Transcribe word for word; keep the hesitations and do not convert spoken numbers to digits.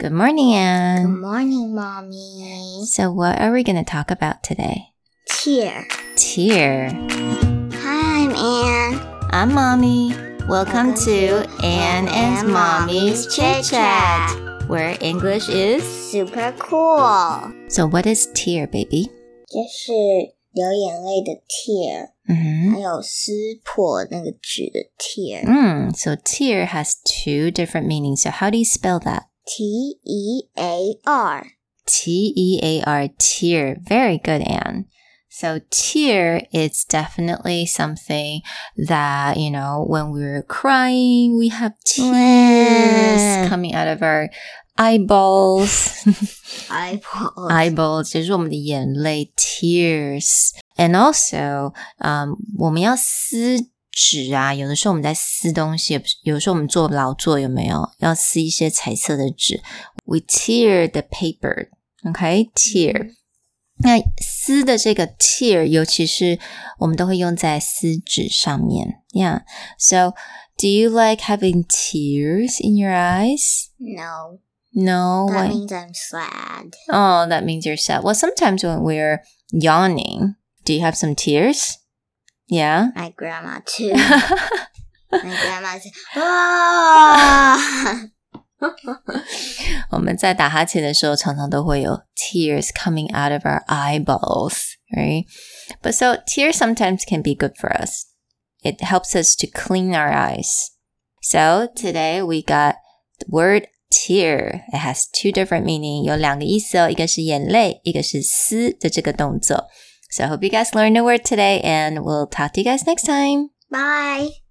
Good morning, Anne. Good morning, Mommy. So what are we going to talk about today? Tear. Tear. Hi, I'm Anne. I'm Mommy. Welcome, Welcome to, to Anne and, and Mommy's Chit Chat, where English is super cool. So what is tear, baby? 就是流眼泪的 tear， Mm-hmm. 还有撕破那个纸的 tear. Mm, so tear has two different meanings. So how do you spell that? T E A R. T E A R, tear. Very good, Anne. So tear is definitely something that, you know, when we're crying, we have tears coming out of our eyeballs. Eyeballs. Eyeballs 就是我们的眼泪 tears. And also, um, 我们要撕纸啊，有的时候我们在撕东西，有的时候我们做劳作有没有？要撕一些彩色的纸。We tear the paper. Okay, tear.那撕的这个 tear 尤其是我们都会用在撕纸上面 Yeah. So, do you like having tears in your eyes? No. No? That Why? means I'm sad. Oh, that means you're sad. Well, sometimes when we're yawning, do you have some tears? Yeah? My grandma too. My grandma said, ah! 我们在打哈欠的时候常常都会有 tears coming out of our eyeballs, right? But so tears sometimes can be good for us. It helps us to clean our eyes. So today we got the word tear. It has two different meanings. 有两个意思哦，一个是眼泪，一个是撕的这个动作。So I hope you guys learned a word today and we'll talk to you guys next time. Bye.